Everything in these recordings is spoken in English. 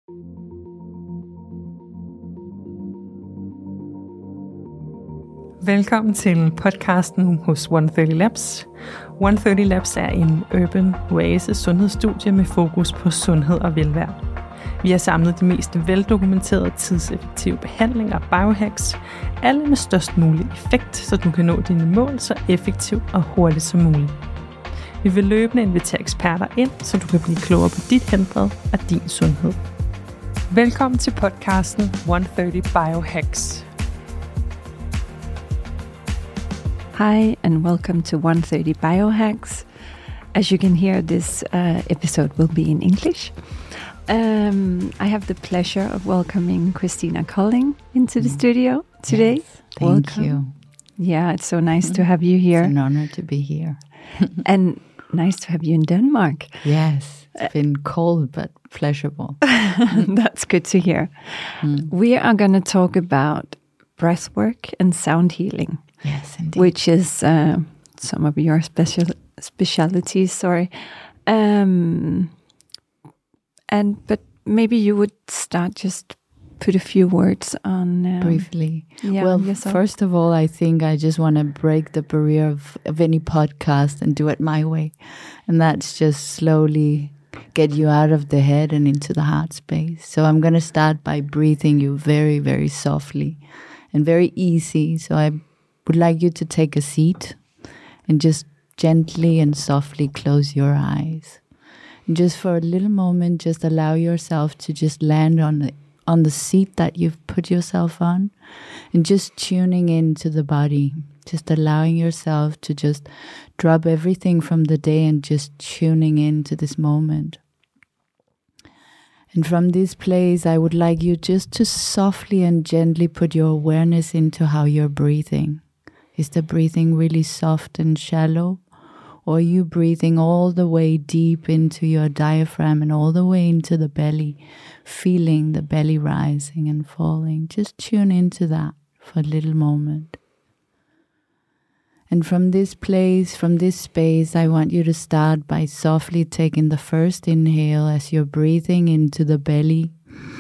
Velkommen til podcasten hos 130 Labs. 130 Labs er en urban oasis sundhedsstudie med fokus på sundhed og velvære. Vi har samlet de mest veldokumenterede tidseffektive behandlinger og biohacks, alle med størst mulig effekt, så du kan nå dine mål så effektivt og hurtigt som muligt. Vi vil løbende invitere eksperter ind, så du kan blive klogere på dit helbred og din sundhed. Velkommen til podcasten 130 Biohacks. Hi, and welcome to 130 Biohacks. As you can hear, this episode will be in English. I have the pleasure of welcoming Christina Colling into the studio today. Yes, thank you. Yeah, it's so nice to have you here. It's an honor to be here. And nice to have you in Denmark. Yes, it's been cold but pleasurable. That's good to hear. We are going to talk about breath work and sound healing. Yes, indeed. Which is some of your specialties, sorry. But maybe you would start just put a few words on briefly. Yeah, well, yourself. First of all, I think I just want to break the barrier of any podcast and do it my way. And that's just slowly get you out of the head and into the heart space. So I'm going to start by breathing you very, very softly and very easy. So I would like you to take a seat and just gently and softly close your eyes. And just for a little moment, just allow yourself to just land on the seat that you've put yourself on, and just tuning into the body, just allowing yourself to just drop everything from the day and just tuning into this moment. And from this place, I would like you just to softly and gently put your awareness into how you're breathing. Is the breathing really soft and shallow? Or are you breathing all the way deep into your diaphragm and all the way into the belly, feeling the belly rising and falling? Just tune into that for a little moment. And from this place, from this space, I want you to start by softly taking the first inhale as you're breathing into the belly.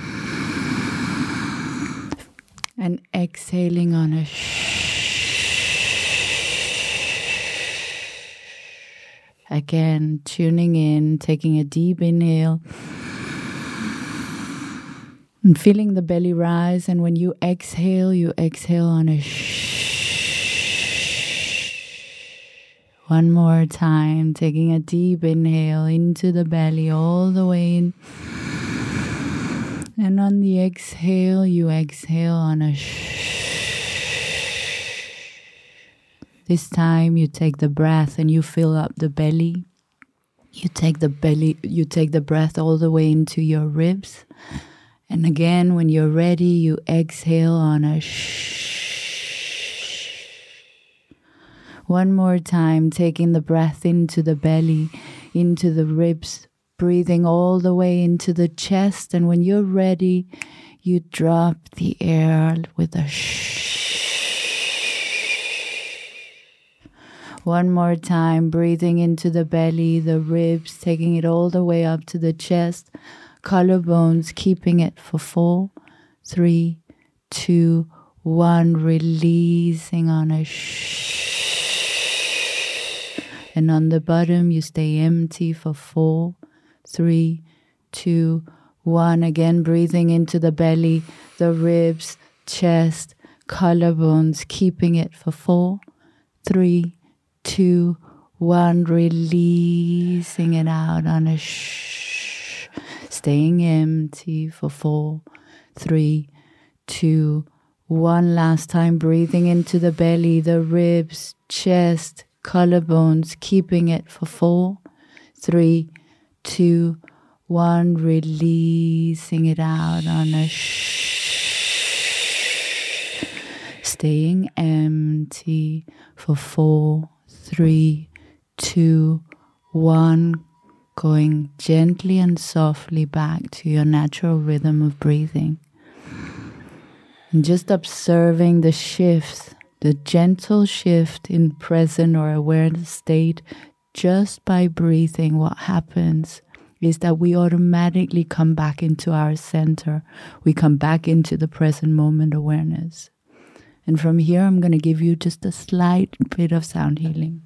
And exhaling on a Again, tuning in, taking a deep inhale and feeling the belly rise. And when you exhale on a One more time, taking a deep inhale into the belly all the way in. And on the exhale, you exhale on a This time you take the breath and you fill up the belly. You take the breath all the way into your ribs. And again, when you're ready, you exhale on a One more time, taking the breath into the belly, into the ribs, breathing all the way into the chest. And when you're ready, you drop the air with a One more time, breathing into the belly, the ribs, taking it all the way up to the chest, collarbones, keeping it for 4, 3, 2, 1, releasing on a And on the bottom, you stay empty for 4, 3, 2, 1. Again, breathing into the belly, the ribs, chest, collarbones, keeping it for 4, 3, 2, 1, releasing it out on a staying empty for 4, 3, 2, 1. Last time, breathing into the belly, the ribs, chest, collarbones, keeping it for 4, 3, 2, 1, releasing it out on a staying empty for 4, 3, 2, 1, going gently and softly back to your natural rhythm of breathing. And just observing the shifts, the gentle shift in present or awareness state just by breathing, what happens is that we automatically come back into our center. We come back into the present moment awareness. And from here, I'm going to give you just a slight bit of sound healing.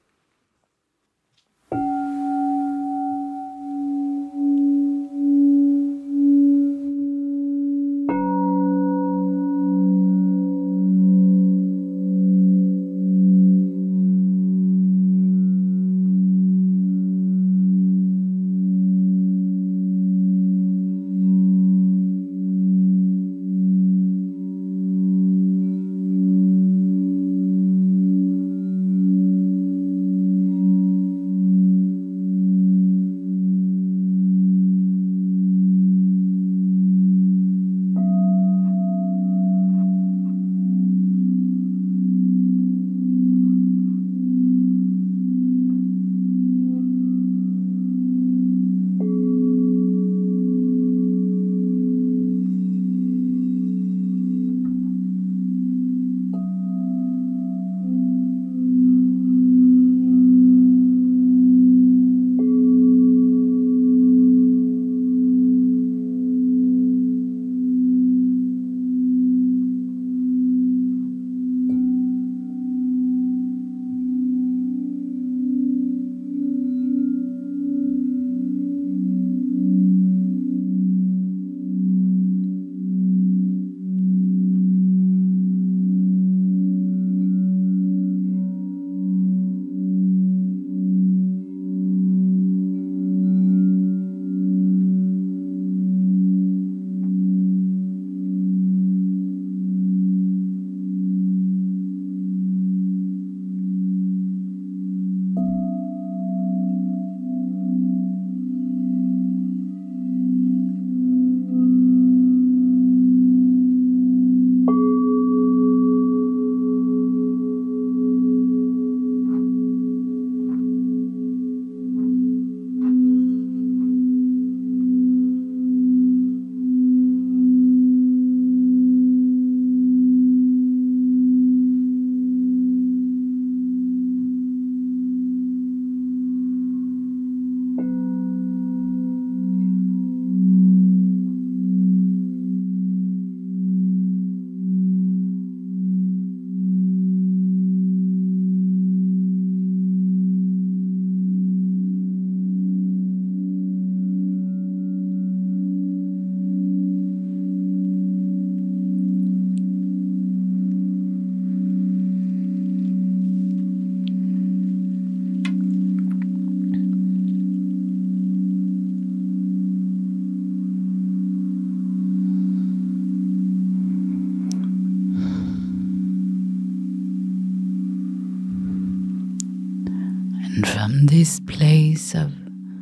And from this place of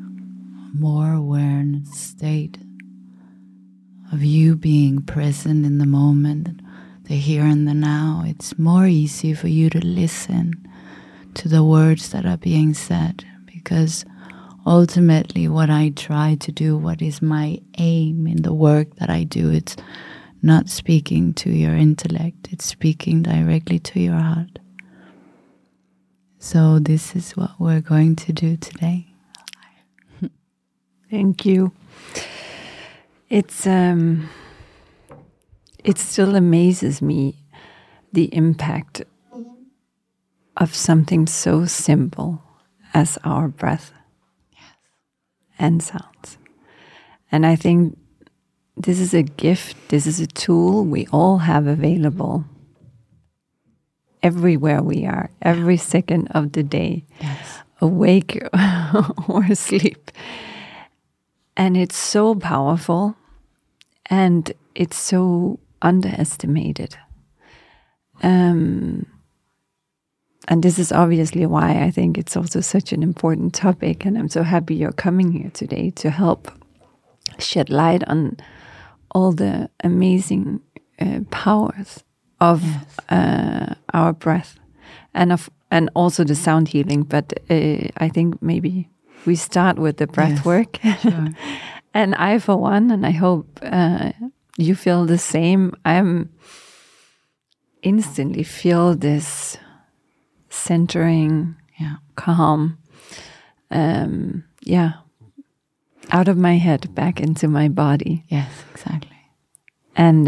more awareness state, of you being present in the moment, the here and the now, it's more easy for you to listen to the words that are being said, because ultimately what I try to do, what is my aim in the work that I do, it's not speaking to your intellect, it's speaking directly to your heart. So this is what we're going to do today. Thank you. It still amazes me the impact of something so simple as our breath and sounds. And I think this is a gift, this is a tool we all have available everywhere we are, every second of the day, awake or asleep. And it's so powerful and it's so underestimated. And this is obviously why I think it's also such an important topic, and I'm so happy you're coming here today to help shed light on all the amazing powers of our breath and also the sound healing. But I think maybe we start with the breath work. Sure. And I, for one, and I hope you feel the same, I'm instantly feel this centering, calm. out of my head back into my body. Yes, exactly. And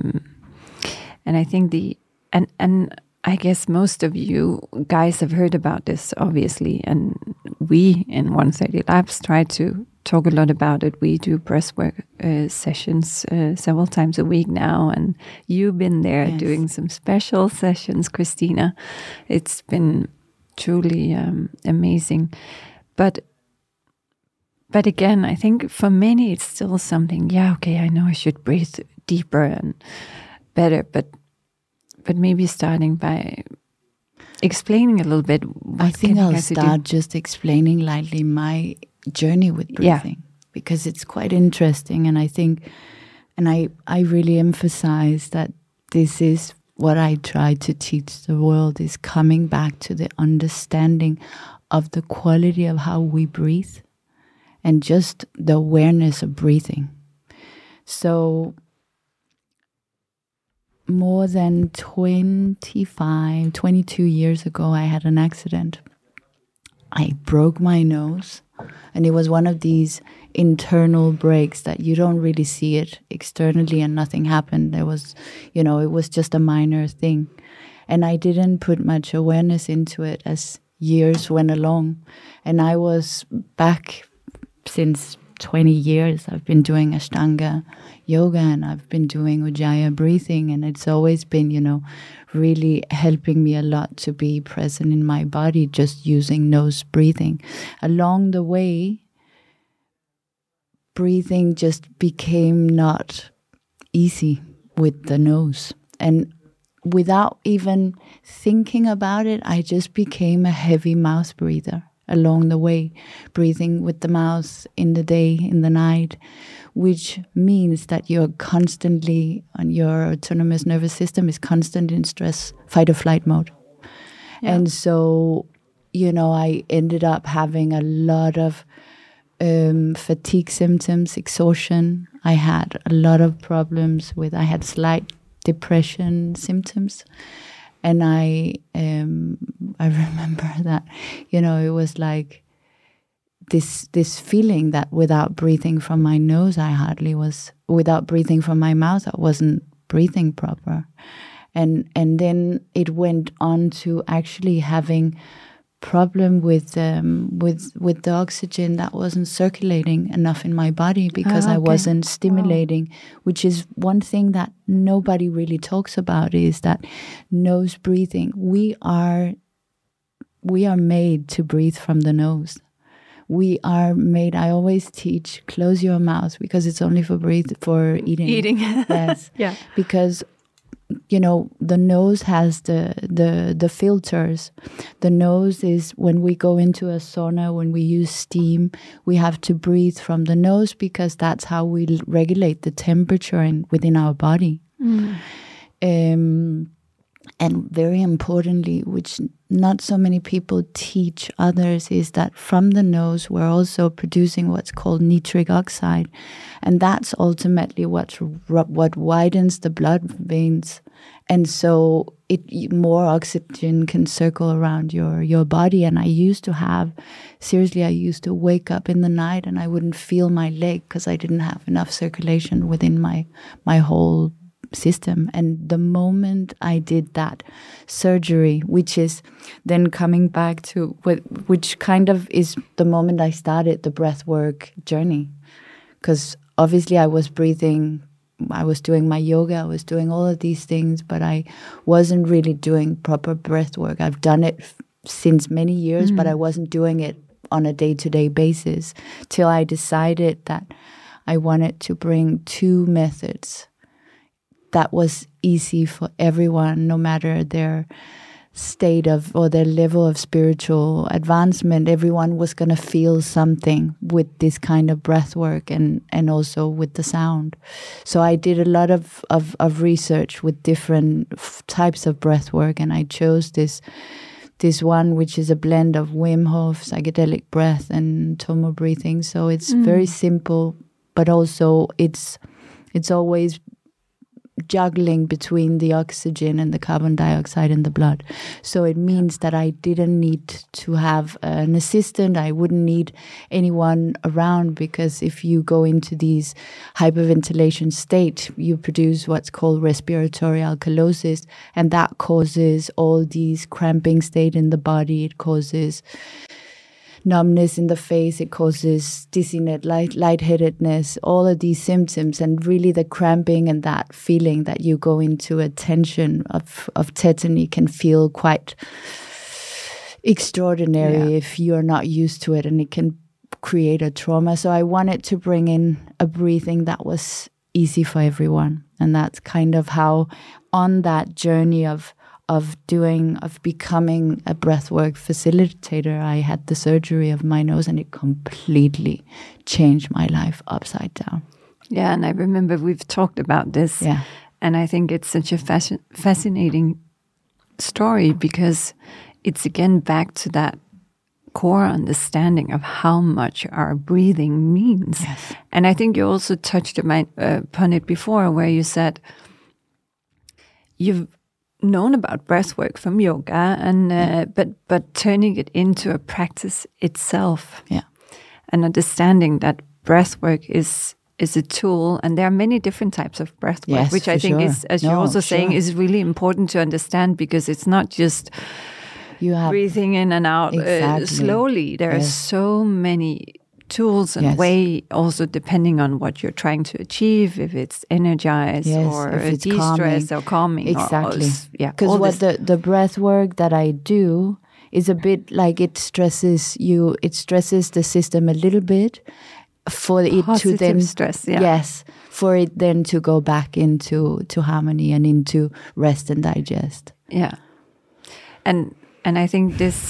I think and I guess most of you guys have heard about this, obviously, and we in 130 Labs try to talk a lot about it. We do breathwork sessions several times a week now, and you've been there doing some special sessions, Christina. It's been truly amazing. But again, I think for many it's still something, I know I should breathe deeper and better, but maybe starting by explaining a little bit. I think I'll start just explaining lightly my journey with breathing, because it's quite interesting. And I think, and I really emphasize that this is what I try to teach the world, is coming back to the understanding of the quality of how we breathe and just the awareness of breathing. So more than 22 years ago, I had an accident. I broke my nose, and it was one of these internal breaks that you don't really see it externally and nothing happened. There was, it was just a minor thing. And I didn't put much awareness into it as years went along. And I was back since 20 years. I've been doing Ashtanga yoga, and I've been doing Ujjayi breathing, and it's always been, really helping me a lot to be present in my body, just using nose breathing. Along the way, breathing just became not easy with the nose. And without even thinking about it, I just became a heavy mouth breather along the way, breathing with the mouth in the day, in the night, which means that you're constantly, on your autonomous nervous system is constant in stress, fight or flight mode. Yeah. And so, I ended up having a lot of fatigue symptoms, exhaustion. I had a lot of problems I had slight depression symptoms. And I remember that, it was like this feeling that without breathing from my nose, without breathing from my mouth, I wasn't breathing proper. And then it went on to actually having problem with the oxygen that wasn't circulating enough in my body, because I wasn't stimulating, which is one thing that nobody really talks about, is that nose breathing. We are made to breathe from the nose. We are made, I always teach, close your mouth, because it's only for eating. Eating. Yes. Yeah. Because the nose has the filters. The nose is, when we go into a sauna, when we use steam, we have to breathe from the nose, because that's how we regulate the temperature within our body. And very importantly, which not so many people teach others, is that from the nose we're also producing what's called nitric oxide, and that's ultimately what widens the blood veins, and so more oxygen can circle around your body. And I used to wake up in the night and I wouldn't feel my leg, because I didn't have enough circulation within my whole system. And the moment I did that surgery, which is then coming back to which kind of is the moment I started the breathwork journey, because obviously I was breathing, I was doing my yoga, I was doing all of these things, but I wasn't really doing proper breathwork. I've done it since many years, but I wasn't doing it on a day-to-day basis, till I decided that I wanted to bring two methods that was easy for everyone, no matter their state of or their level of spiritual advancement. Everyone was going to feel something with this kind of breath work and also with the sound. So I did a lot of research with different types of breath work, and I chose this one, which is a blend of Wim Hof, psychedelic breath, and Tomo breathing. So it's very simple, but also it's always juggling between the oxygen and the carbon dioxide in the blood. So it means that I didn't need to have an assistant. I wouldn't need anyone around, because if you go into these hyperventilation state, you produce what's called respiratory alkalosis, and that causes all these cramping state in the body. It causes numbness in the face, it causes dizziness, lightheadedness, all of these symptoms, and really the cramping and that feeling that you go into a tension of tetany can feel quite extraordinary if you're not used to it, and it can create a trauma. So I wanted to bring in a breathing that was easy for everyone, and that's kind of how on that journey of becoming a breathwork facilitator, I had the surgery of my nose, and it completely changed my life upside down. Yeah, and I remember we've talked about this. Yeah. And I think it's such a fascinating story, because it's again back to that core understanding of how much our breathing means. Yes. And I think you also touched upon it before, where you said you've known about breathwork from yoga, and but turning it into a practice itself, and understanding that breathwork is a tool, and there are many different types of breathwork, which I think is, as you're also saying, is really important to understand, because it's not just breathing in and out slowly. There are so many tools and way, also depending on what you're trying to achieve, if it's energize or it's de-stress or calming. Exactly. Because what the breath work that I do is a bit like it stresses the system a little bit for it to then stress. For it then to go back into harmony and into rest and digest. Yeah. And I think this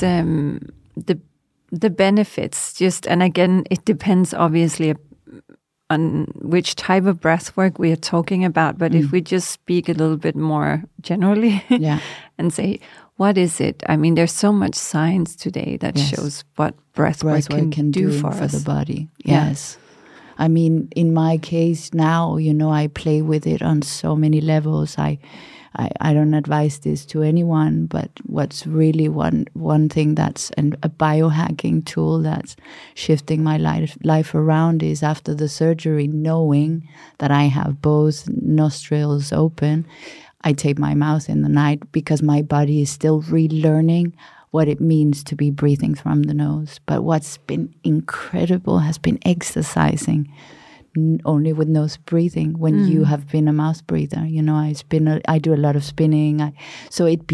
the benefits, and again, it depends obviously on which type of breath work we are talking about. But if we just speak a little bit more generally and say, what is it? I mean, there's so much science today that shows what breath work can do for us. The body. Yes. I mean, in my case now, I play with it on so many levels. I don't advise this to anyone, but what's really one thing that's a biohacking tool that's shifting my life around is after the surgery, knowing that I have both nostrils open, I tape my mouth in the night, because my body is still relearning what it means to be breathing from the nose. But what's been incredible has been exercising only with nose breathing when you have been a mouth breather. I do a lot of spinning. So it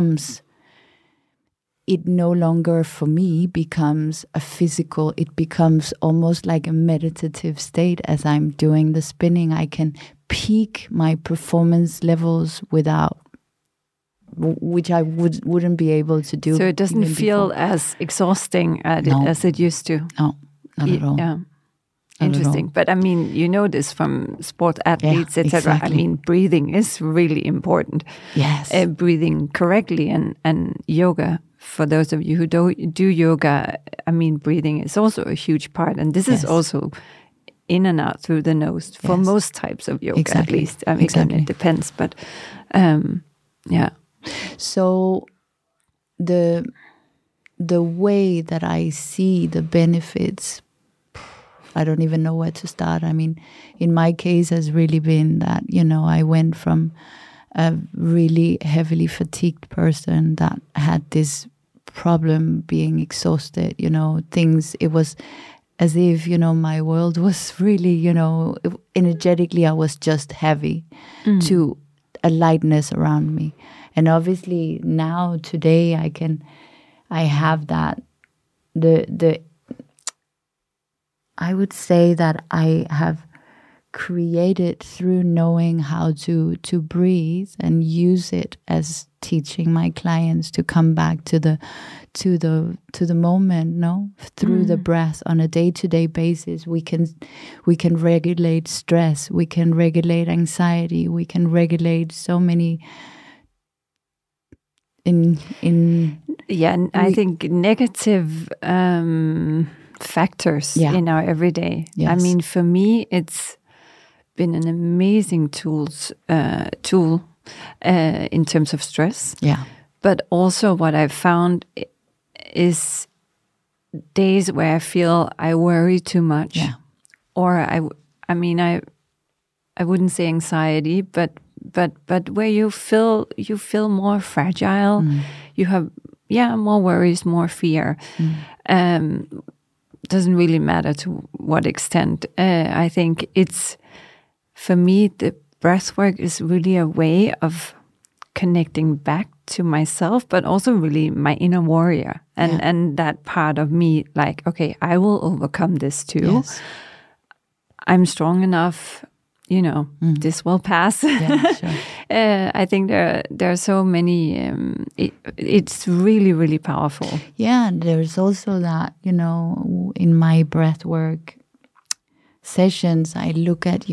no longer for me becomes a physical, it becomes almost like a meditative state. As I'm doing the spinning, I can peak my performance levels which I wouldn't be able to do. So it doesn't feel as exhausting as it used to. No, not at all. Yeah. Interesting. But I mean, this from sport athletes, etc. Exactly. I mean, breathing is really important. Yes. Breathing correctly and yoga. For those of you who do yoga, I mean, breathing is also a huge part. And this is also in and out through the nose for most types of yoga, at least. I mean, it depends. But So the way that I see the benefits, I don't even know where to start. I mean, in my case has really been that, I went from a really heavily fatigued person that had this problem being exhausted, things, it was as if, my world was really, energetically I was just heavy to a lightness around me. And obviously now, today, I have that, I would say that I have created through knowing how to breathe and use it as teaching my clients to come back to the moment, through the breath on a day-to-day basis. We can regulate stress, we can regulate anxiety, we can regulate so many I think negative factors in our everyday. Yes. I mean, for me, it's been an amazing tool in terms of stress. Yeah. But also what I've found is days where I feel I worry too much. Yeah. Or I wouldn't say anxiety, but where you feel more fragile. You have more worries, more fear. Doesn't really matter to what extent. I think it's, for me, the breath work is really a way of connecting back to myself, but also really my inner warrior and that part of me, like, okay, I will overcome this too. Yes. I'm strong enough, this will pass. Yeah, sure. I think there are so many, it's really, really powerful. Yeah, and there's also that, in my breath work sessions, I look at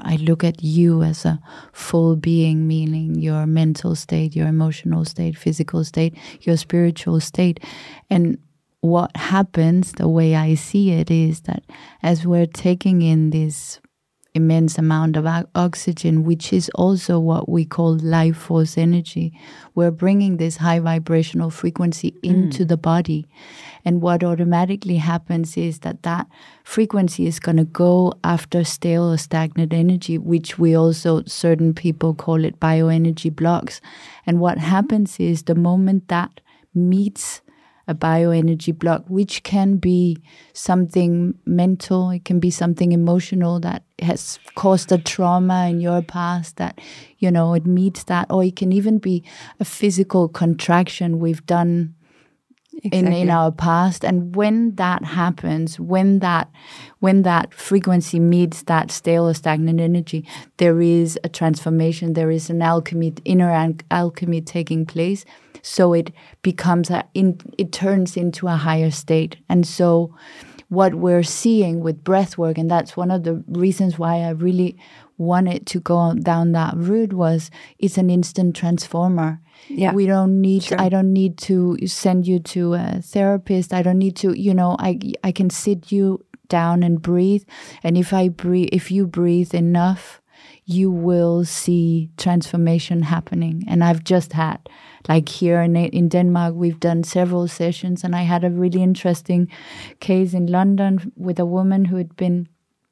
you as a full being, meaning your mental state, your emotional state, physical state, your spiritual state. And what happens, the way I see it, is that as we're taking in this immense amount of oxygen, which is also what we call life force energy, we're bringing this high vibrational frequency into the body. And what automatically happens is that frequency is going to go after stale or stagnant energy, which we also, certain people call it bioenergy blocks. And what happens is the moment that meets a bioenergy block, which can be something mental, it can be something emotional that has caused a trauma in your past, that, it meets that, or it can even be a physical contraction we've done in our past. And when that happens, when that frequency meets that stale or stagnant energy, there is a transformation, there is an inner alchemy taking place. So it becomes it turns into a higher state. And so what we're seeing with breath work, and that's one of the reasons why I really wanted to go down that route, was it's an instant transformer. Yeah. We don't need, I don't need to send you to a therapist. I don't need to, I can sit you down and breathe. And if you breathe enough, you will see transformation happening. And I've just had, like here in Denmark, we've done several sessions, and I had a really interesting case in London with a woman who had been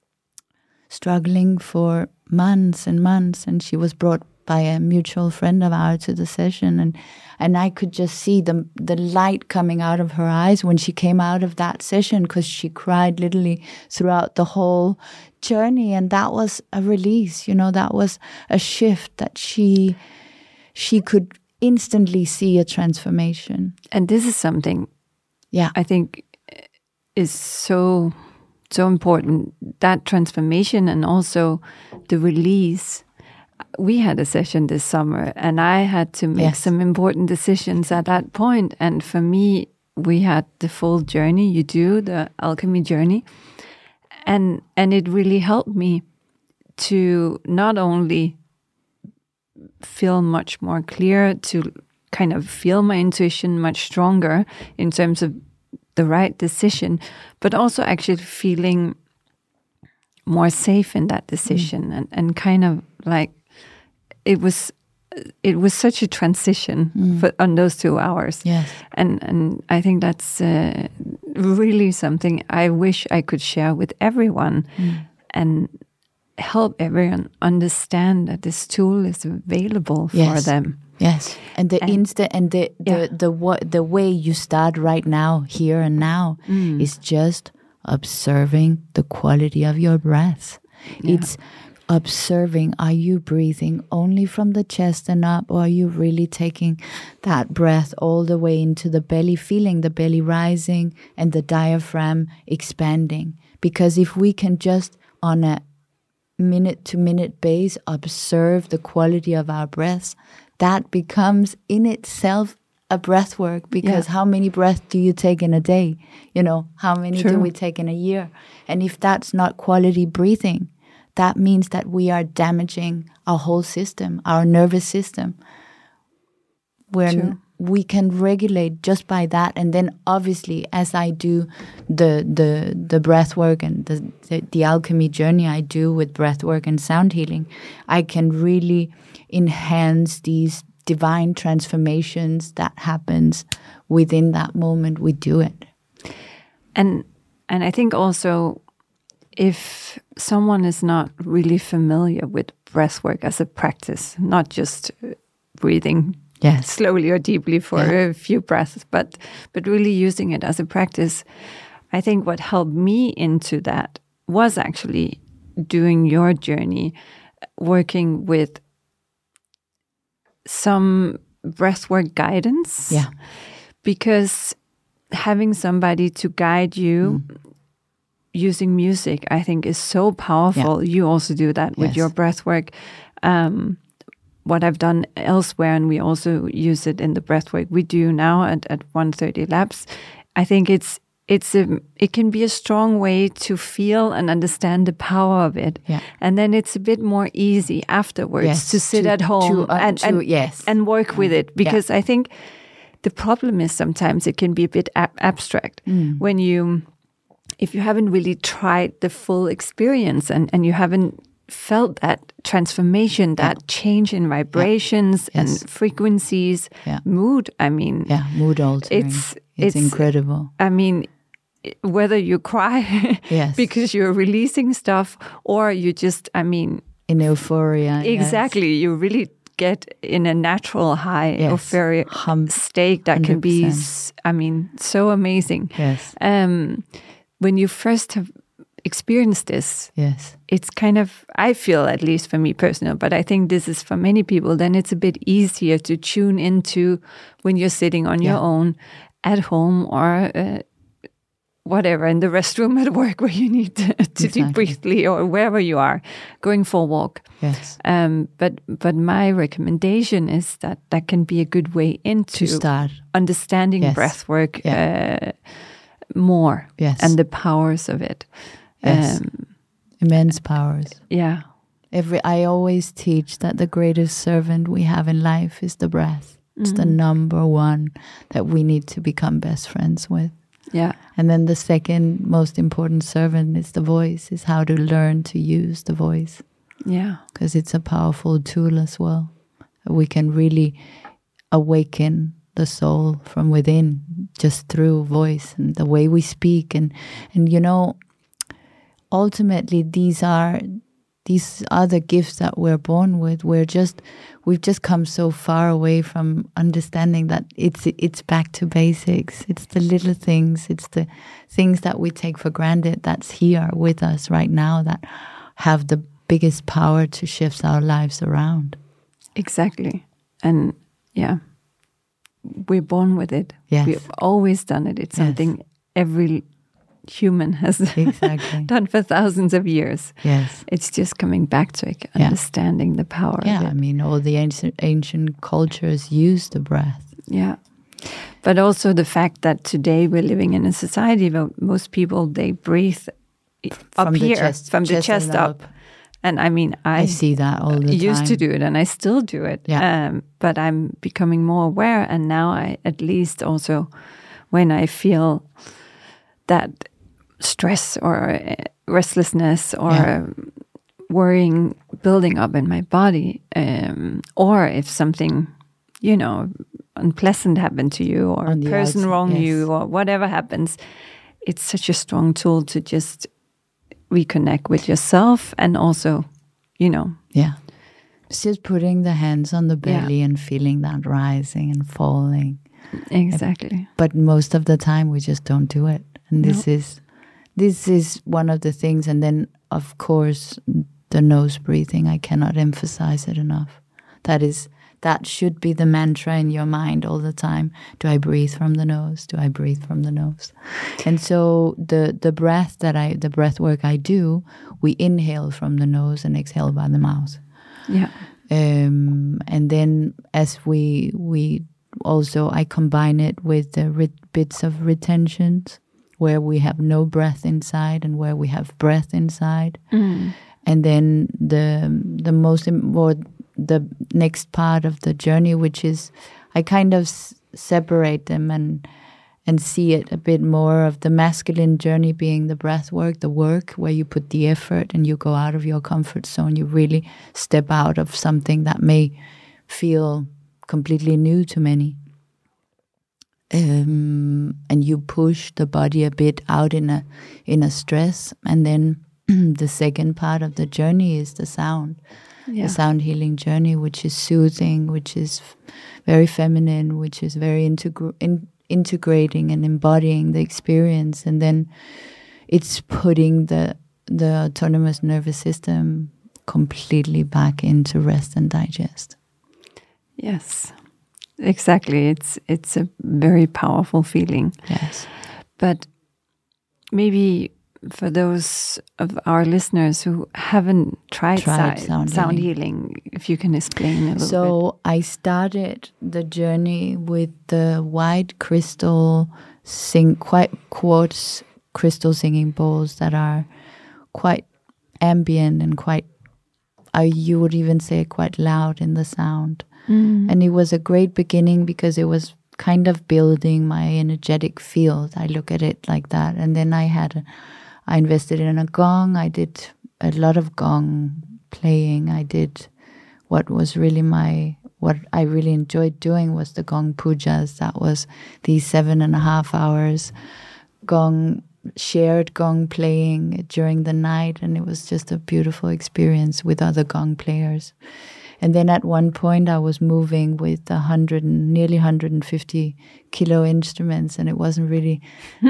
struggling for months and months, and she was brought by a mutual friend of ours to the session, and I could just see the light coming out of her eyes when she came out of that session, because she cried literally throughout the whole journey. And that was a release, that was a shift, that she could instantly see a transformation. And this is something, I think is so important, that transformation, and also the release. We had a session this summer, and I had to make some important decisions at that point. And for me, we had the full journey. You do the alchemy journey, and it really helped me to not only feel much more clear, to kind of feel my intuition much stronger in terms of the right decision, but also actually feeling more safe in that decision, and kind of like it was such a transition on those 2 hours. Yes. And I think that's really something I wish I could share with everyone, and help everyone understand that this tool is available for them. Yes, and the way you start right now, here and now, is just observing the quality of your breath. Yeah. It's observing, are you breathing only from the chest and up, or are you really taking that breath all the way into the belly, feeling the belly rising and the diaphragm expanding? Because if we can just on a minute-to-minute base observe the quality of our breaths, that becomes in itself a breath work, because how many breaths do you take in a day? How many do we take in a year? And if that's not quality breathing, that means that we are damaging our whole system, our nervous system. we can regulate just by that. And then obviously, as I do the breath work and the alchemy journey I do with breath work and sound healing, I can really enhance these divine transformations that happens within that moment we do it. And I think also, if someone is not really familiar with breath work as a practice, not just breathing slowly or deeply for a few breaths, but really using it as a practice, I think what helped me into that was actually doing your journey, working with some breathwork guidance. Yeah. Because having somebody to guide you using music, I think, is so powerful. Yeah. You also do that with your breathwork. What I've done elsewhere, and we also use it in the breathwork we do now at 130 Labs, I think it can be a strong way to feel and understand the power of it. Yeah. And then it's a bit more easy afterwards to sit at home and work with it. Because I think the problem is sometimes it can be a bit abstract when if you haven't really tried the full experience and you haven't felt that transformation, that change in vibrations and frequencies, mood. I mean, mood altering. It's incredible. I mean, whether you cry because you're releasing stuff, or you just, in euphoria. Exactly. You really get in a natural high euphoria state that 100%. Can be, so amazing. Yes. When you first have experienced this, it's kind of, I feel, at least for me personally, but I think this is for many people, then it's a bit easier to tune into when you're sitting on your own at home or whatever, in the restroom at work where you need to deep breathe, or wherever you are, going for a walk. Yes. But my recommendation is that can be a good way into to start understanding breath work more and the powers of it. Immense powers. Yeah. I always teach that the greatest servant we have in life is the breath. It's the number one that we need to become best friends with. Yeah. And then the second most important servant is the voice, is how to learn to use the voice. Yeah. Because it's a powerful tool as well. We can really awaken the soul from within just through voice and the way we speak. And ultimately these are the gifts that we're born with. We've just come so far away from understanding that it's back to basics. It's the little things. It's the things that we take for granted that's here with us right now that have the biggest power to shift our lives around. Exactly. And we're born with it. Yes. We've always done it. It's something every human has done for thousands of years. Yes. It's just coming back to it, understanding the power of it. All the ancient cultures use the breath. Yeah. But also the fact that today we're living in a society where most people, they breathe up here, from the chest up. And I see that all the time. I used to do it, and I still do it. Yeah. But I'm becoming more aware, and now I, at least also when I feel that stress or restlessness or worrying building up in my body, or if something, unpleasant happened to you, or a person wronged you, or whatever happens, it's such a strong tool to just reconnect with yourself, and also, it's just putting the hands on the belly and feeling that rising and falling. Exactly. But most of the time we just don't do it. And this is one of the things. And then, of course, the nose breathing. I cannot emphasize it enough. That should be the mantra in your mind all the time. Do I breathe from the nose? Do I breathe from the nose? And so the breath work I do, we inhale from the nose and exhale by the mouth. Yeah. And then as we also, I combine it with the bits of retentions, where we have no breath inside and where we have breath inside. And then the next part of the journey, which is, I kind of separate them and see it a bit more of the masculine journey being the breath work, the work where you put the effort and you go out of your comfort zone. You really step out of something that may feel completely new to many. And you push the body a bit out in a stress. And then the second part of the journey is the sound. The sound healing journey, which is soothing, which is very feminine, which is very integrating and embodying the experience. And then it's putting the autonomous nervous system completely back into rest and digest. Yes, exactly. It's a very powerful feeling. Yes. But maybe for those of our listeners who haven't tried sound healing, if you can explain a little bit. So I started the journey with the white crystal quartz crystal singing bowls that are quite ambient and quite, you would even say, quite loud in the sound. And it was a great beginning because it was kind of building my energetic field. I look at it like that. And then I invested in a gong. I did a lot of gong playing. I did what I really enjoyed doing was the gong pujas. That was these 7.5 hours shared gong playing during the night. And it was just a beautiful experience with other gong players. And then at one point I was moving with nearly 150 kilo instruments, and it wasn't really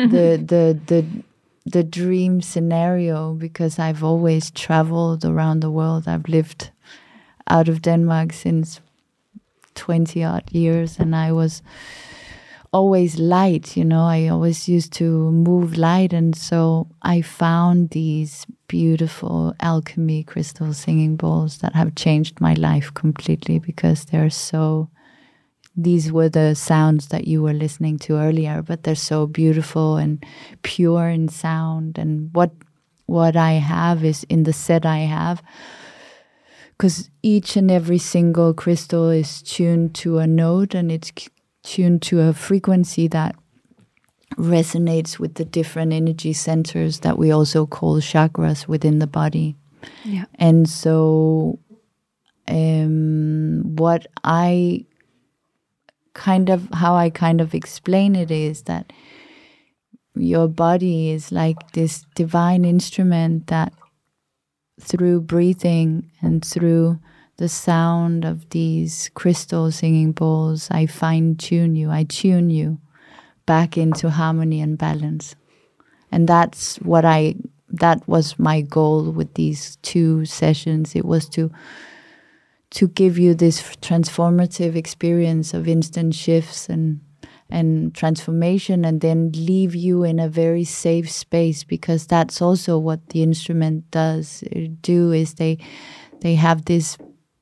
the dream scenario because I've always traveled around the world. I've lived out of Denmark since 20 odd years, and I was always light, I always used to move light. And so I found these beautiful alchemy crystal singing bowls that have changed my life completely because these were the sounds that you were listening to earlier, but they're so beautiful and pure in sound. And what I have is in the set I have, because each and every single crystal is tuned to a note, and it's tuned to a frequency that resonates with the different energy centers that we also call chakras within the body. Yeah. And so how I kind of explain it is that your body is like this divine instrument that through breathing and through the sound of these crystal singing bowls, I fine-tune you, I tune you back into harmony and balance. And that was my goal with these 2 sessions. It was to give you this transformative experience of instant shifts and transformation, and then leave you in a very safe space, because that's also what the instrument does. They have this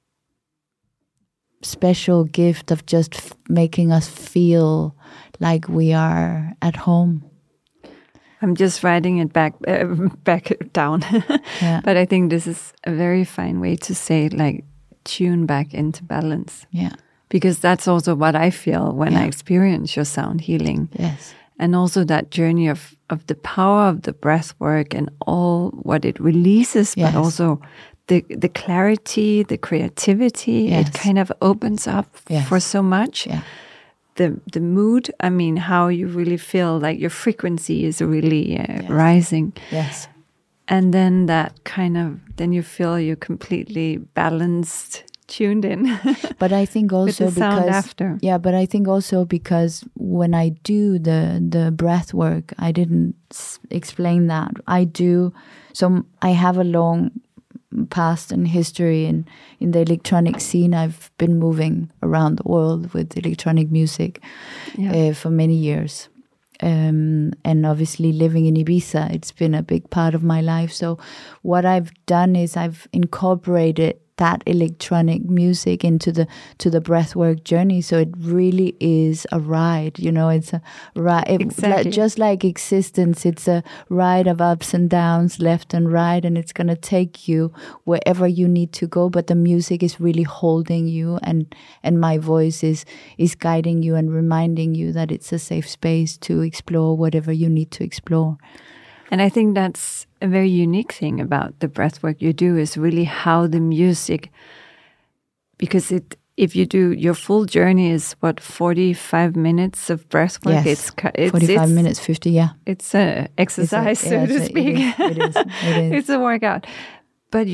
special gift of just making us feel like we are at home. I'm just writing it back down. Yeah. But I think this is a very fine way to say, like, tune back into balance. Yeah. Because that's also what I feel when I experience your sound healing. Yes. And also that journey of the power of the breath work and all what it releases, but also the clarity, the creativity, it kind of opens up for so much. Yeah. The mood, I mean, how you really feel like your frequency is really rising. Yes. And then then you feel you're completely balanced, tuned in. But I think also with the sound after. Yeah, but I think also because when I do the breath work, I didn't explain that. I have a long past and history in the electronic scene. I've been moving around the world with electronic music for many years. And obviously living in Ibiza, it's been a big part of my life. So what I've done is I've incorporated that electronic music into the breathwork journey. So it really is a ride, you know. It's a ride, Exactly. just like existence. It's a ride of ups and downs, left and right, and it's gonna take you wherever you need to go. But the music is really holding you, and my voice is guiding you and reminding you that it's a safe space to explore whatever you need to explore. And I think that's a very unique thing about the breathwork you do, is really how the music, because if you do your full journey is 45 minutes of breathwork. Yes, It's 45 minutes, 50, yeah. It's a exercise, so to speak. It is. It's a workout. But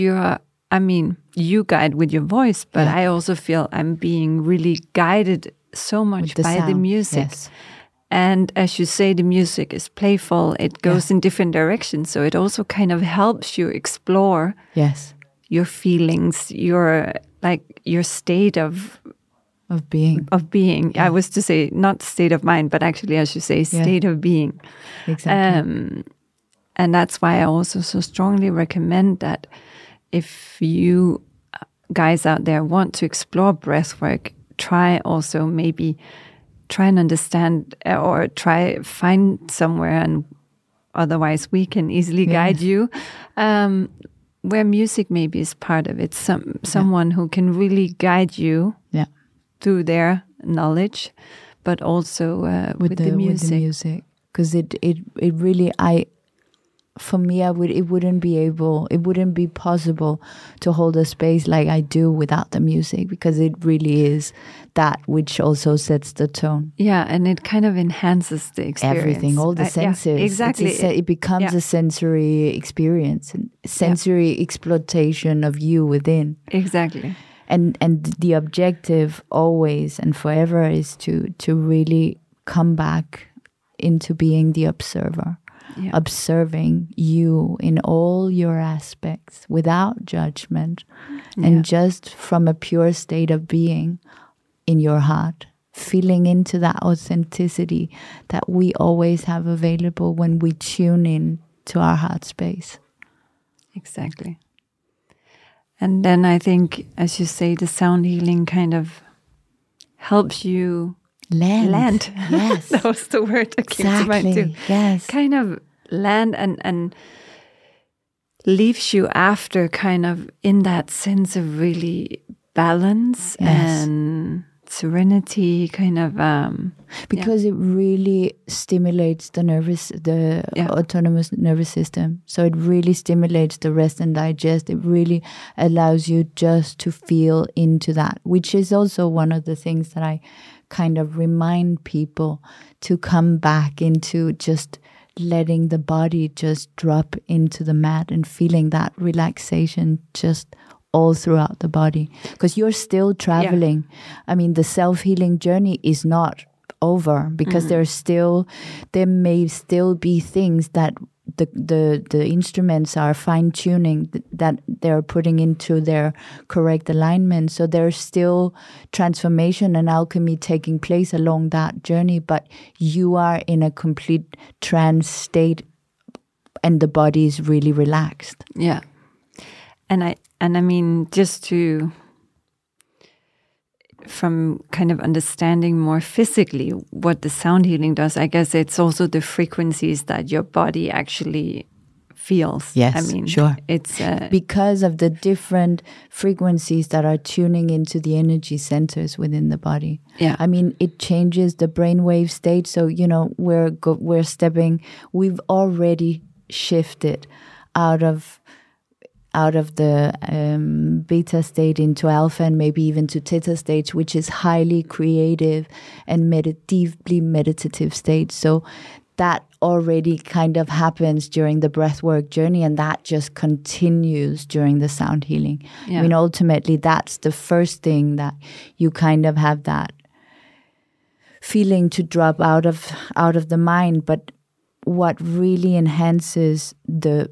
you guide with your voice, but I also feel I'm being really guided so much by the music. Yes. And as you say, the music is playful. It goes in different directions. So it also kind of helps you explore your feelings, your state of being. Yeah. I was to say not state of mind, but actually, as you say, state of being. Exactly. And that's why I also so strongly recommend that if you guys out there want to explore breathwork, try and understand, or find somewhere, and otherwise we can easily guide you, where music maybe is part of it. Someone who can really guide you through their knowledge, but also with the music. Because it really, for me, it wouldn't be possible to hold a space like I do without the music, because it really is that which also sets the tone. Yeah, and it kind of enhances the experience. Everything, all the senses. Exactly. It becomes a sensory experience, and sensory exploitation of you within. Exactly. And the objective always and forever is to really come back into being the observer. Yeah. Observing you in all your aspects without judgment, and just from a pure state of being in your heart, feeling into that authenticity that we always have available when we tune in to our heart space. Exactly. And then I think, as you say, the sound healing kind of helps you land. Yes. That was the word that came to mind too. Yes. Kind of land and leaves you after kind of in that sense of really balance and serenity, kind of because it really stimulates the autonomous nervous system. So it really stimulates the rest and digest. It really allows you just to feel into that, which is also one of the things that I kind of remind people to come back into, just letting the body just drop into the mat and feeling that relaxation just all throughout the body, because you're still traveling. I mean, the self-healing journey is not over, because there may still be things that the instruments are fine-tuning, that they're putting into their correct alignment. So there's still transformation and alchemy taking place along that journey, but you are in a complete trance state and the body is really relaxed. Yeah. And I mean, just from kind of understanding more physically what the sound healing does, I guess it's also the frequencies that your body actually feels. Yes, I mean, sure. It's because of the different frequencies that are tuning into the energy centers within the body. Yeah. I mean, it changes the brainwave state. So, you know, we've already shifted out of the beta state into alpha, and maybe even to theta stage, which is highly creative and deeply meditative state. So that already kind of happens during the breathwork journey, and that just continues during the sound healing. Yeah. I mean, ultimately, that's the first thing that you kind of have that feeling to drop out of the mind. But what really enhances the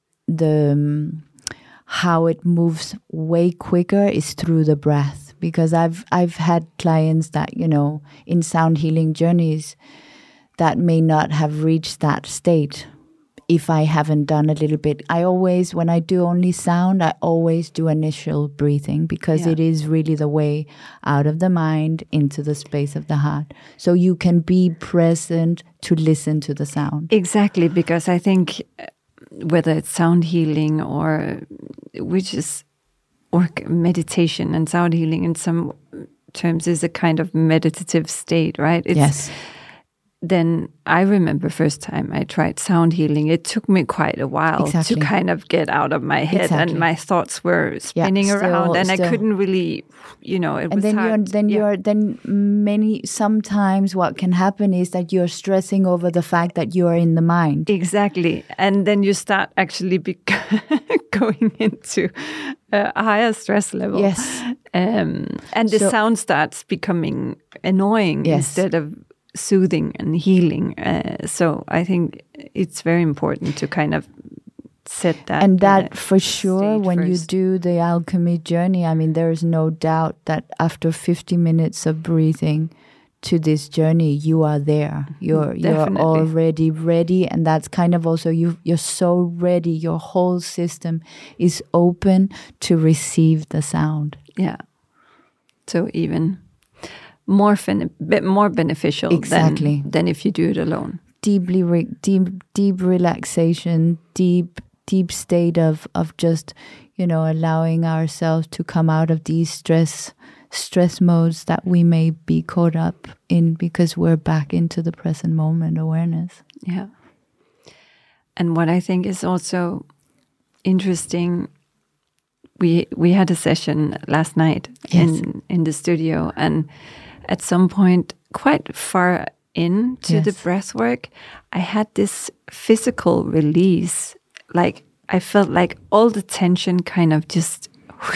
how it moves way quicker is through the breath, because I've had clients that, you know, in sound healing journeys that may not have reached that state if I haven't done a little bit. I always, when I do only sound, I always do initial breathing because it is really the way out of the mind into the space of the heart. So you can be present to listen to the sound. Exactly, because I think whether it's sound healing or meditation, and sound healing in some terms is a kind of meditative state, right? Yes. Then I remember first time I tried sound healing, it took me quite a while to kind of get out of my head, and my thoughts were spinning around, and I couldn't really, it was hard. Sometimes what can happen is that you're stressing over the fact that you are in the mind. Exactly. And then you start actually going into a higher stress level. Yes. And the sound starts becoming annoying instead of soothing and healing. So I think it's very important to kind of set that. And that for sure, when you do the alchemy journey, I mean, there is no doubt that after 50 minutes of breathing to this journey, you are there. You're already ready. And that's kind of also, you're so ready. Your whole system is open to receive the sound. Yeah. So even bit more beneficial than if you do it alone. Deep relaxation, deep state of just, allowing ourselves to come out of these stress modes that we may be caught up in because we're back into the present moment awareness. Yeah. And what I think is also interesting, we had a session last night in the studio, and at some point, quite far into the breath work, I had this physical release. Like I felt like all the tension kind of just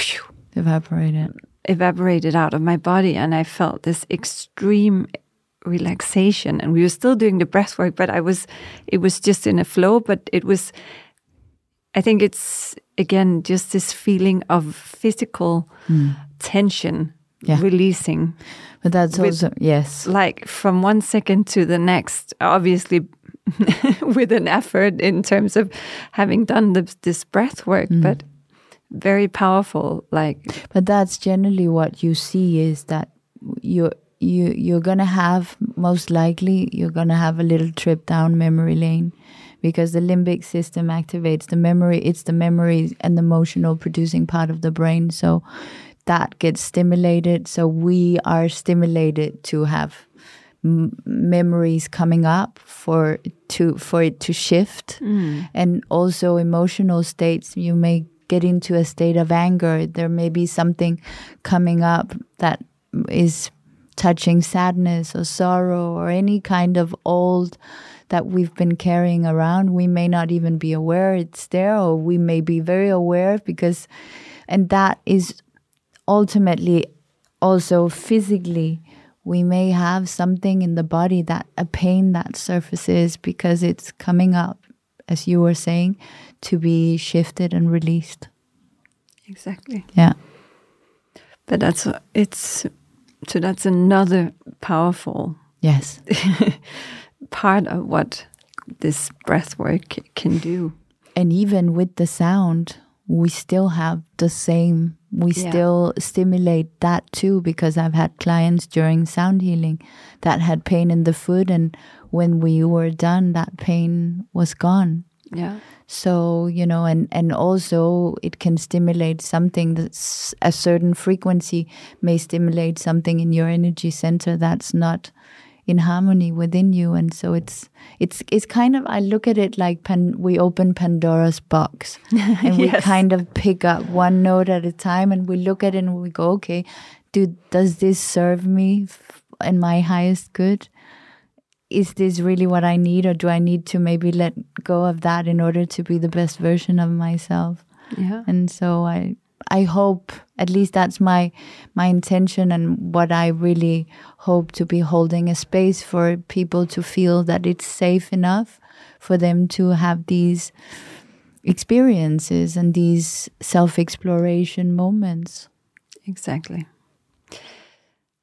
evaporated out of my body, and I felt this extreme relaxation. And we were still doing the breath work, but it was just in a flow. But I think it's again just this feeling of physical tension releasing. But that's also, like from one second to the next, obviously with an effort in terms of having done this breath work, but very powerful. But that's generally what you see is that you're going to have, most likely, you're going to have a little trip down memory lane because the limbic system activates the memory. It's the memory and the emotional producing part of the brain. So that gets stimulated. So we are stimulated to have memories coming up for it to shift. And also emotional states. You may get into a state of anger. There may be something coming up that is touching sadness or sorrow or any kind of old that we've been carrying around. We may not even be aware it's there, or we may be very aware and that is ultimately also physically, we may have something in the body, a pain that surfaces because it's coming up, as you were saying, to be shifted and released. Exactly. Yeah. But that's another powerful part of what this breath work can do. And even with the sound, we still have the same. We still stimulate that too, because I've had clients during sound healing that had pain in the foot, and when we were done, that pain was gone. Yeah. So, and also it can stimulate something that's a certain frequency may stimulate something in your energy center that's not in harmony within you. And so it's kind of, I look at it like we open Pandora's box and we kind of pick up one note at a time, and we look at it and we go, okay, does this serve me and my highest good? Is this really what I need, or do I need to maybe let go of that in order to be the best version of myself? Yeah. And so I hope, at least that's my intention, and what I really hope to be holding a space for people to feel that it's safe enough for them to have these experiences and these self-exploration moments. Exactly.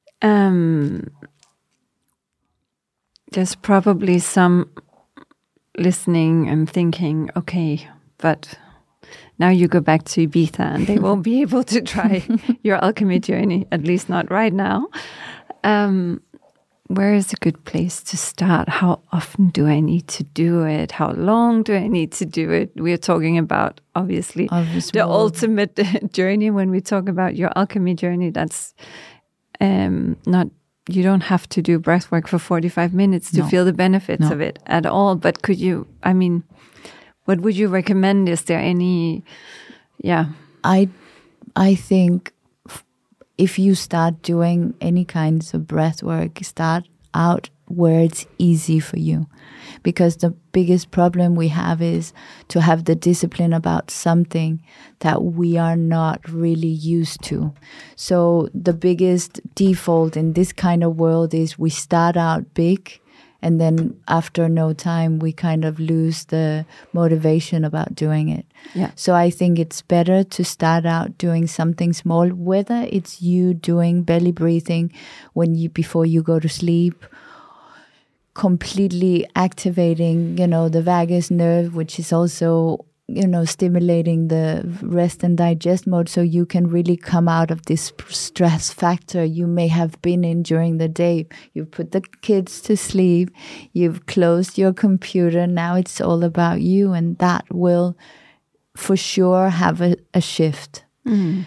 There's probably some listening and thinking, okay, but now you go back to Ibiza and they won't be able to try your alchemy journey, at least not right now. Where is a good place to start? How often do I need to do it? How long do I need to do it? We are talking about, obviously, the ultimate journey. When we talk about your alchemy journey, that's not, you don't have to do breathwork for 45 minutes to feel the benefits of it at all. But could you, I mean, what would you recommend? Is there any, I think if you start doing any kinds of breath work, start out where it's easy for you. Because the biggest problem we have is to have the discipline about something that we are not really used to. So the biggest default in this kind of world is we start out big, and then after no time, we kind of lose the motivation about doing it. Yeah. So I think it's better to start out doing something small, whether it's you doing belly breathing before you go to sleep, completely activating, the vagus nerve, which is also, stimulating the rest and digest mode, so you can really come out of this stress factor you may have been in during the day. You've put the kids to sleep, you've closed your computer, now it's all about you, and that will for sure have a shift. And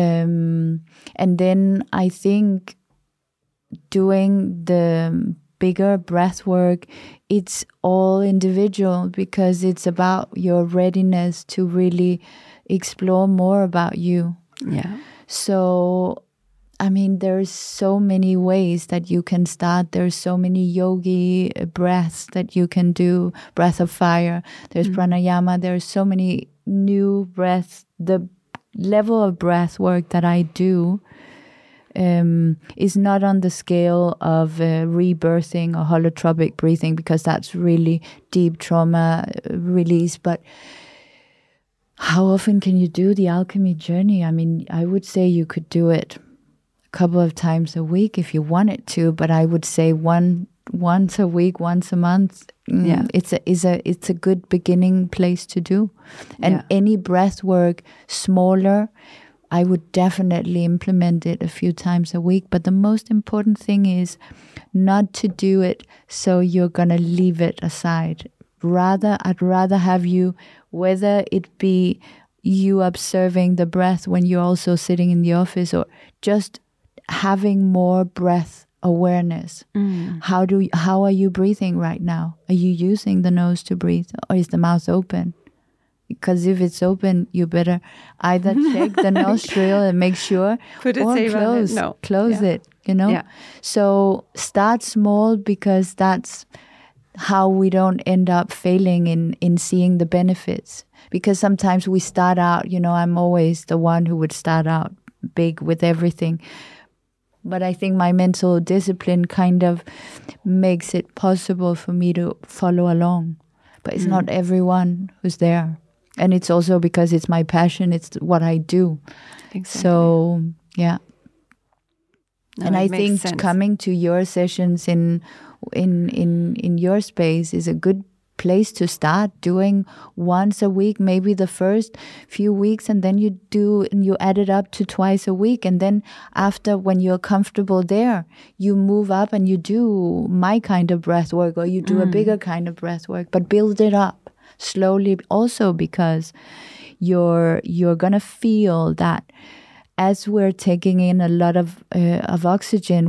then I think doing the bigger breath work, it's all individual, because it's about your readiness to really explore more about you. Yeah. So, I mean, there's so many ways that you can start. There's so many yogi breaths that you can do. Breath of fire. There's pranayama. There's so many new breaths. The level of breath work that I do is not on the scale of rebirthing or holotropic breathing, because that's really deep trauma release. But how often can you do the alchemy journey? I mean, I would say you could do it a couple of times a week if you wanted to, but I would say once a week, once a month. It's a good beginning place to do. And any breath work smaller, I would definitely implement it a few times a week. But the most important thing is not to do it so you're going to leave it aside. I'd rather have you, whether it be you observing the breath when you're also sitting in the office, or just having more breath awareness. How are you breathing right now? Are you using the nose to breathe, or is the mouth open? Because if it's open, you better either check the nostril and make sure, put it or close it, Yeah. So start small, because that's how we don't end up failing in seeing the benefits. Because sometimes we start out, I'm always the one who would start out big with everything. But I think my mental discipline kind of makes it possible for me to follow along. But it's not everyone who's there. And it's also because it's my passion. It's what I do. Exactly. So, yeah. No, and I think sense. Coming to your sessions in your space is a good place to start, doing once a week, maybe the first few weeks, and then you add it up to twice a week. And then after, when you're comfortable there, you move up and you do my kind of breath work, or you do a bigger kind of breath work, but build it up slowly, also because you're gonna feel that as we're taking in a lot of oxygen,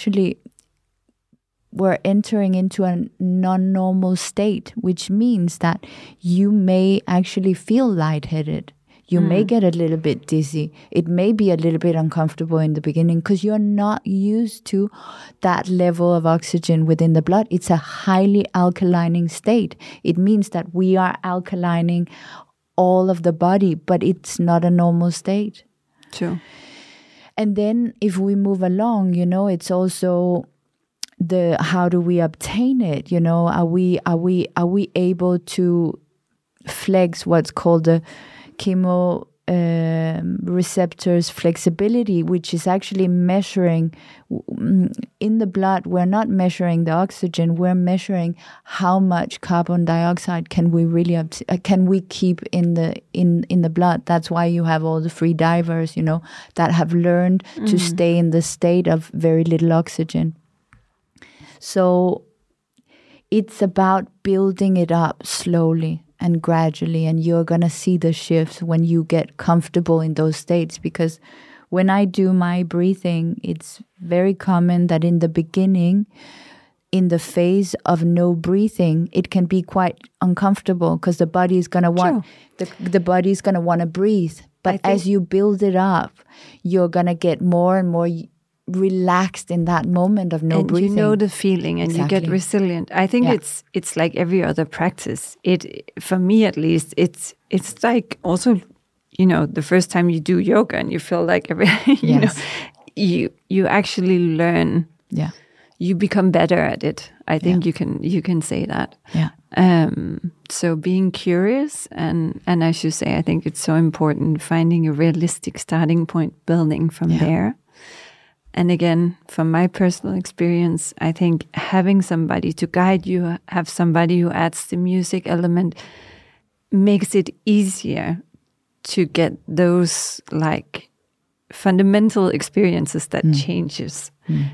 we're entering into a non-normal state, which means that you may actually feel lightheaded. You may get a little bit dizzy. It may be a little bit uncomfortable in the beginning because you're not used to that level of oxygen within the blood. It's a highly alkalining state. It means that we are alkalining all of the body, but it's not a normal state. True. And then if we move along, it's also how do we obtain it? Are we able to flex what's called the receptors flexibility, which is actually measuring in the blood. We're not measuring the oxygen, we're measuring how much carbon dioxide can we really can we keep in the blood. That's why you have all the free divers, you know, that have learned to stay in the state of very little oxygen. So it's about building it up slowly and gradually, and you're going to see the shifts when you get comfortable in those states. Because when I do my breathing, it's very common that in the beginning, in the phase of no breathing, it can be quite uncomfortable because the body is going to want the body is going to want to breathe. But as you build it up, you're going to get more and more relaxed in that moment of no breathing. You know the feeling, and you get resilient. I think it's like every other practice. For me at least, it's like also, you know, the first time you do yoga and you feel like you actually learn. Yeah, you become better at it. I think you can say that. Yeah. So being curious and as you say, I think it's so important finding a realistic starting point, building from there. And again, from my personal experience, I think having somebody to guide you, have somebody who adds the music element, makes it easier to get those like fundamental experiences that changes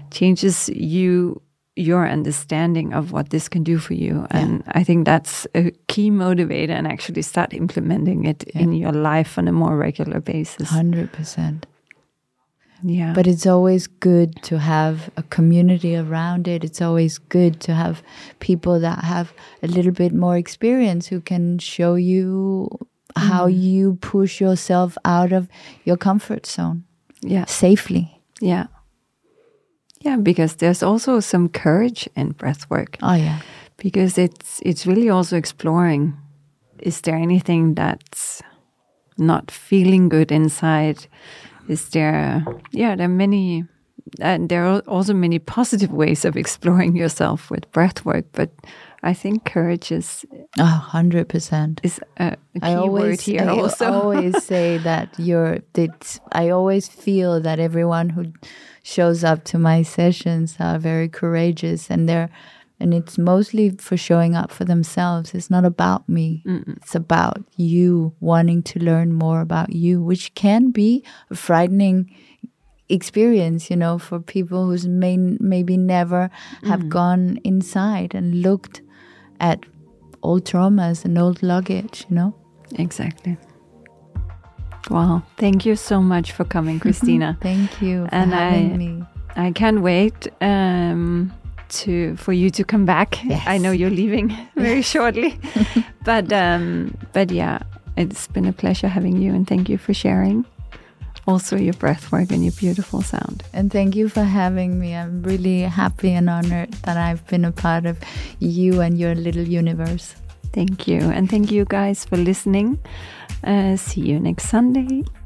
your understanding of what this can do for you. And I think that's a key motivator, and actually start implementing it in your life on a more regular basis. 100%. Yeah. But it's always good to have a community around it. It's always good to have people that have a little bit more experience who can show you how you push yourself out of your comfort zone. Yeah. Safely. Yeah. Yeah, because there's also some courage in breath work. Oh yeah. Because it's really also exploring, is there anything that's not feeling good inside? Is there are many, and there are also many positive ways of exploring yourself with breath work, but I think courage is 100% is a key word here. I always say that I always feel that everyone who shows up to my sessions are very courageous, and it's mostly for showing up for themselves. It's not about me. It's about you wanting to learn more about you, which can be a frightening experience, you know, for people who's maybe never have gone inside and looked at old traumas and old luggage, you know? Exactly. Wow. Thank you so much for coming, Christina. Thank you for having me. I can't wait for you to come back. Yes. I know you're leaving very shortly. But yeah, it's been a pleasure having you, and thank you for sharing also your breath work and your beautiful sound. And thank you for having me. I'm really happy and honored that I've been a part of you and your little universe. Thank you. And thank you guys for listening. See you next Sunday.